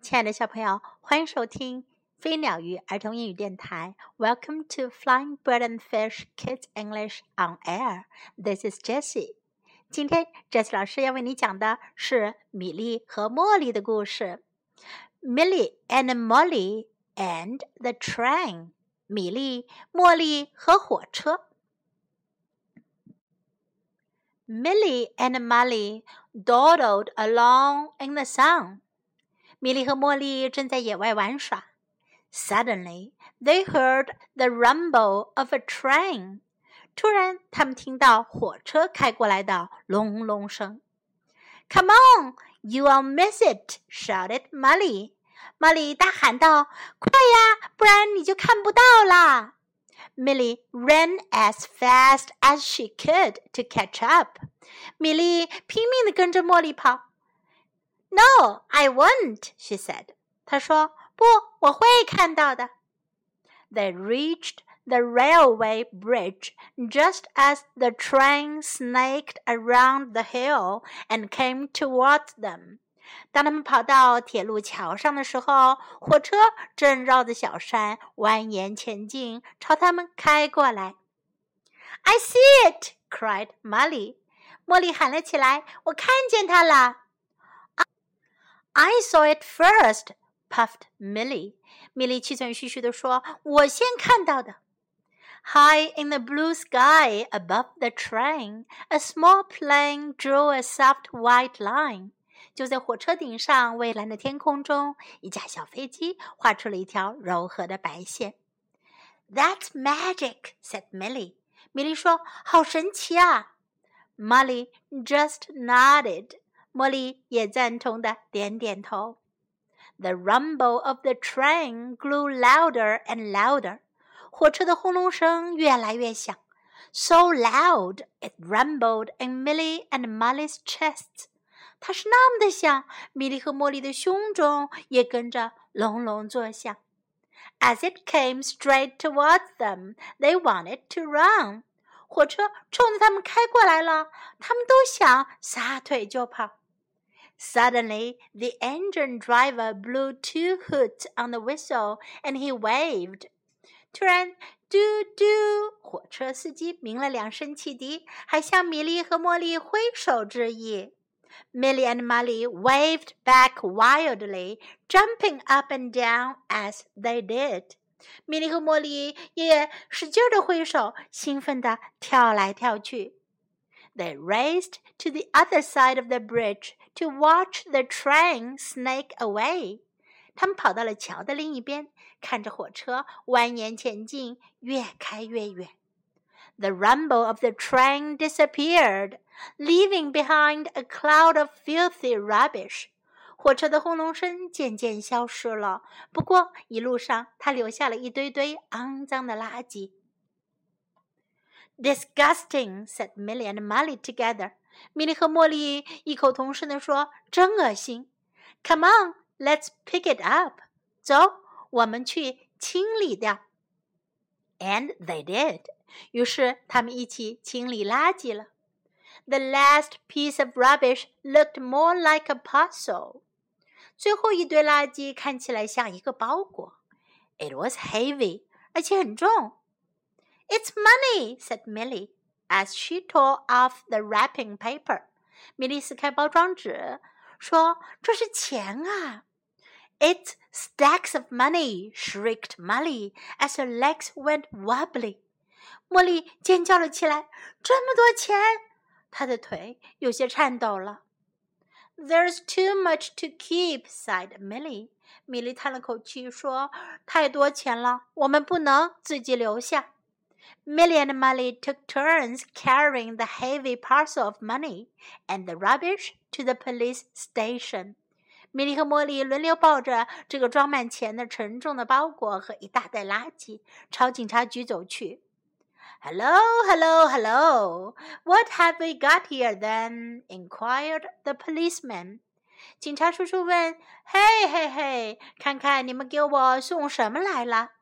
亲爱的小朋友，欢迎收听飞鸟鱼儿童英语电台。Welcome to Flying Bird and Fish Kids English on Air. This is Jessie. 今天 Jessie 老师要为你讲的是米莉和茉莉的故事。Millie and Molly and the train. 米莉、茉莉和火车。Millie and Molly dawdled along in the sun. 米莉和茉莉正在野外玩耍。Suddenly, they heard the rumble of a train. 突然，他们听到火车开过来的隆隆声。Come on, you'll miss it, shouted Molly. 茉莉大喊道：“快呀，不然你就看不到啦！” Millie ran as fast as she could to catch up. 米莉拼命地跟着茉莉跑。No, I won't, she said. 她说，不，我会看到的。They reached the railway bridge just as the train snaked around the hill and came towards them. 当他们跑到铁路桥上的时候，火车正绕着小山蜿蜒前进，朝他们开过来。I see it, cried Molly. 茉莉喊了起来，我看见它了。I saw it first, puffed Millie. 米莉气喘吁吁地说，我先看到的。High in the blue sky above the train, a small plane drew a soft white line. 就在火车顶上蔚蓝的天空中，一架小飞机画出了一条柔和的白线。That's magic, said Millie. 米莉说，好神奇啊。Molly just nodded. 茉莉也赞同地点点头。The rumble of the train grew louder and louder. 火车的轰隆声越来越响。So loud, it rumbled in Millie and Molly's chests. 它是那么的响，米莉和茉莉的胸中也跟着隆隆作响。As it came straight towards them, they wanted to run. 火车冲着他们开过来了，他们都想撒腿就跑。Suddenly, the engine driver blew 2 hoots on the whistle, and he waved. 突然，嘟嘟，火车司机鸣了2声汽笛，还向米莉和茉莉挥手致意。Millie and Molly waved back wildly, jumping up and down as they did. 米莉和茉莉也使劲地挥手，兴奋地跳来跳去。They raced to the other side of the bridge to watch the train snake away. 他们跑到了桥的另一边，看着火车蜿蜒前进，越开越远。The rumble of the train disappeared, leaving behind a cloud of filthy rubbish. 火车的轰隆声渐渐消失了，不过一路上它留下了一堆堆肮脏的垃圾。Disgusting, said Millie and Molly together. 米莉和茉莉异口同声地说，真恶心。Come on, let's pick it up. 走，我们去清理掉。And they did. 于是他们一起清理垃圾了。The last piece of rubbish looked more like a parcel. 最后一堆垃圾看起来像一个包裹。It was heavy, 而且很重。It's money, said Millie, as she tore off the wrapping paper. 米莉撕开包装纸，说：“这是钱啊！” It's stacks of money, shrieked Molly, as her legs went wobbly. 茉莉尖叫了起来：“这么多钱！”她的腿有些颤抖了。There's too much to keep, sighed Millie. 米莉叹了口气说：“太多钱了，我们不能自己留下。” Millie and Molly took turns carrying the heavy parcel of money and the rubbish to the police station. 米莉和茉莉轮流抱着这个装满钱的沉重的包裹和一大袋垃圾，朝警察局走去。Hello, hello, hello. What have we got here then? Inquired the policeman. 警察叔叔问：“嘿嘿嘿，看看你们给我送什么来了？”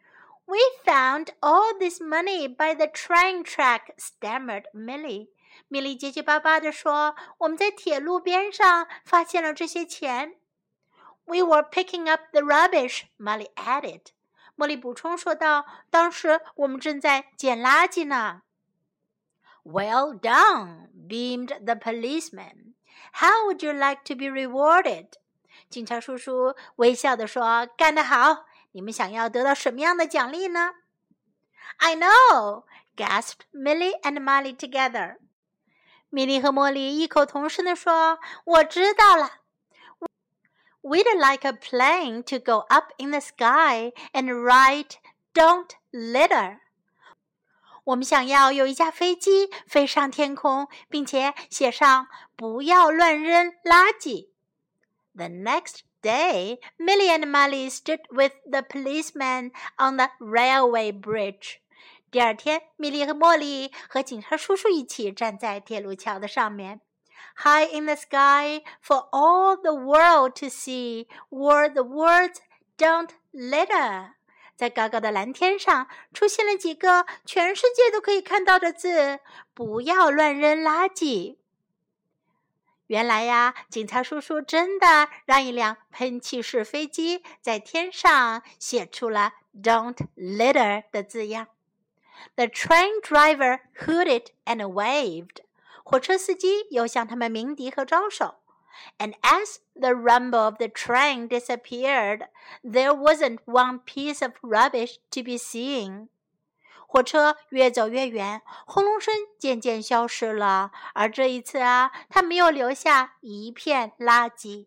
We found all this money by the train track, stammered Millie. 米莉结结巴巴地说：“我们在铁路边上发现了这些钱。” We were picking up the rubbish, Molly added. 茉莉补充说道，当时我们正在捡垃圾呢。Well done, beamed the policeman. How would you like to be rewarded? 警察叔叔微笑地说，干得好，你们想要得到什么样的奖励呢？ I know, gasped Millie and Molly together. 米莉和茉莉异口同声地说，我知道了。We'd like a plane to go up in the sky and write, Don't litter. 我们想要有一架飞机飞上天空，并且写上不要乱扔垃圾。The next day, Millie and Molly stood with the policeman on the railway bridge. 第二天，米莉和茉莉和警察叔叔一起站在铁路桥的上面。High in the sky, for all the world to see, were the words, Don't litter. 在高高的蓝天上出现了几个全世界都可以看到的字，不要乱扔垃圾。原来呀，警察叔叔真的让一辆喷气式飞机在天上写出了 Don't litter 的字样。The train driver hooted and waved. 火车司机又向他们鸣笛和招手。And as the rumble of the train disappeared, there wasn't one piece of rubbish to be seen. 火车越走越远，轰隆声渐渐消失了，而这一次啊，它没有留下一片垃圾。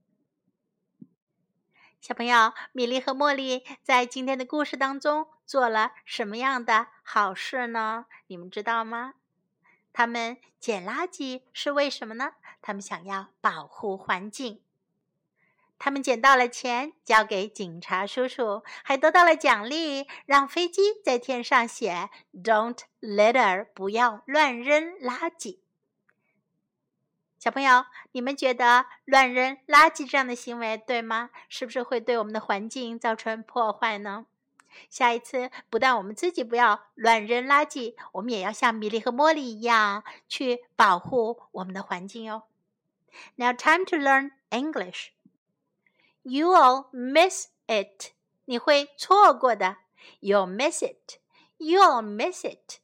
小朋友，米莉和茉莉在今天的故事当中做了什么样的好事呢？你们知道吗？他们捡垃圾是为什么呢？他们想要保护环境。他们捡到了钱，交给警察叔叔，还得到了奖励，让飞机在天上写 Don't litter， 不要乱扔垃圾。小朋友，你们觉得乱扔垃圾这样的行为对吗？是不是会对我们的环境造成破坏呢？下一次不但我们自己不要乱扔垃圾，我们也要像米莉和茉莉一样去保护我们的环境哟。Now time to learn English. You'll miss it. 你会错过的。You'll miss it. You'll miss it.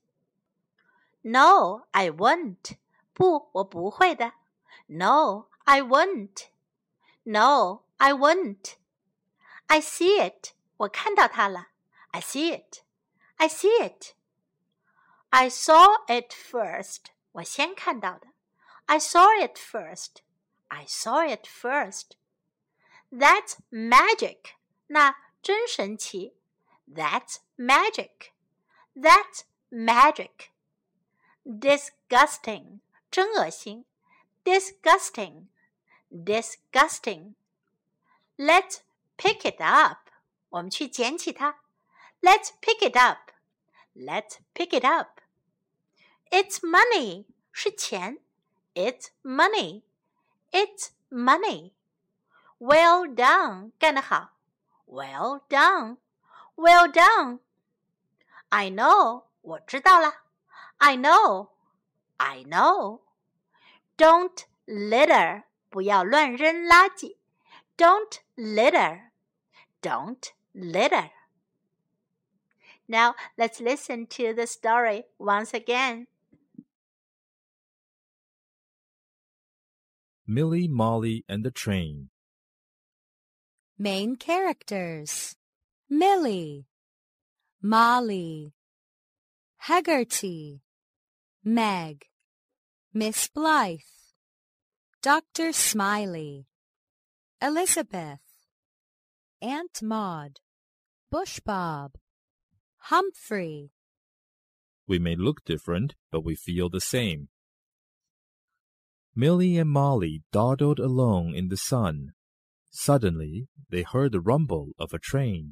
No, I won't. 不，我不会的。No, I won't. No, I won't. I see it. 我看到它了。I see it. I see it. I saw it first. 我先看到的。I saw it first. I saw it first. That's magic. 那真神奇。That's magic. That's magic. Disgusting. 真恶心。Disgusting. Disgusting. Let's pick it up. 我们去捡起它。Let's pick it up. Let's pick it up. It's money. 是钱。It's money. It's money. Well done. 干得好。Well done. Well done. I know. 我知道了。I know. I know. Don't litter. 不要乱扔垃圾。Don't litter. Don't litter. Now let's listen to the story once again. Millie, Molly, and the Train. Main characters: Millie, Molly, Haggerty, Meg, Miss Blythe, Dr. Smiley, Elizabeth, Aunt Maud, Bush Bob, Humphrey. We may look different, but we feel the same. Millie and Molly dawdled alone in the sun. Suddenly, they heard the rumble of a train.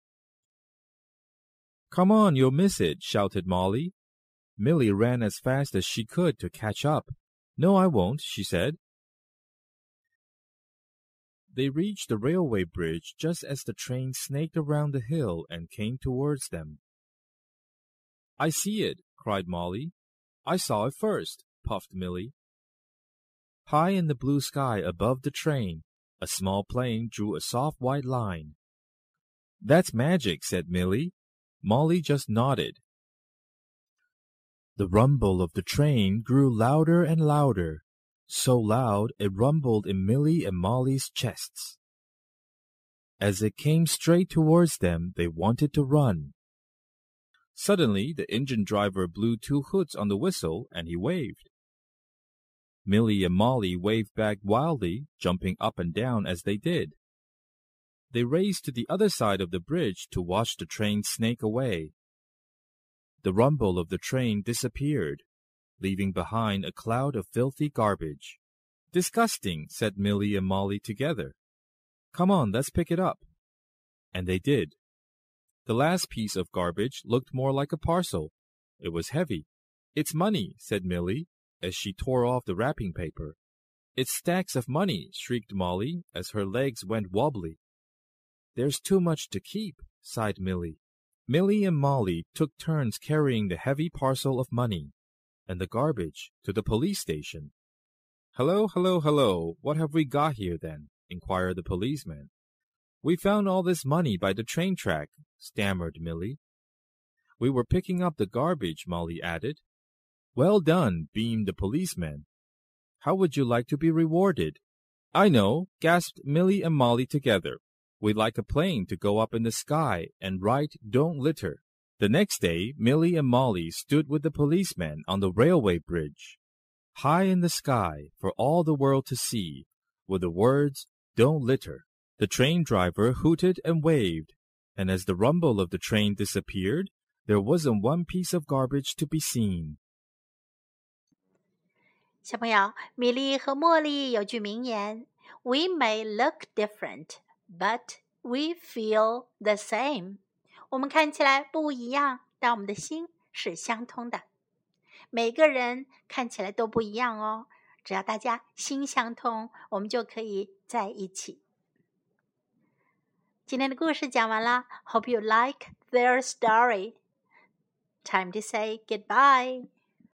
"Come on, you'll miss it," shouted Molly. Millie ran as fast as she could to catch up. "No, I won't," she said. They reached the railway bridge just as the train snaked around the hill and came towards them. "I see it," cried Molly. "I saw it first," puffed Millie. High in the blue sky above the train, A small plane drew a soft white line. That's magic, said Millie. Molly just nodded. The rumble of the train grew louder and louder, so loud it rumbled in Millie and Molly's chests. As it came straight towards them, they wanted to run. Suddenly, the engine driver blew 2 hoots on the whistle, and he waved. Millie and Molly waved back wildly, jumping up and down as they did. They raced to the other side of the bridge to watch the train snake away. The rumble of the train disappeared, leaving behind a cloud of filthy garbage. Disgusting, said Millie and Molly together. Come on, let's pick it up. And they did. The last piece of garbage looked more like a parcel. It was heavy. It's money, said Millie, as she tore off the wrapping paper. It's stacks of money, shrieked Molly, as her legs went wobbly. There's too much to keep, sighed Millie. Millie and Molly took turns carrying the heavy parcel of money and the garbage to the police station. Hello, hello, hello, what have we got here then? Inquired the policeman. We found all this money by the train track, stammered Millie. We were picking up the garbage, Molly added. Well done, beamed the policeman. How would you like to be rewarded? I know, gasped Millie and Molly together. We'd like a plane to go up in the sky and write Don't Litter. The next day, Millie and Molly stood with the policeman on the railway bridge. High in the sky, for all the world to see, were the words Don't Litter. The train driver hooted and waved, and as the rumble of the train disappeared, there wasn't one piece of garbage to be seen. 小朋友，米莉和茉莉有句名言 We may look different, but we feel the same. 我们看起来不一样，但我们的心是相通的。每个人看起来都不一样哦，只要大家心相通，我们就可以在一起。今天的故事讲完了 Hope you like their story. Time to say goodbye.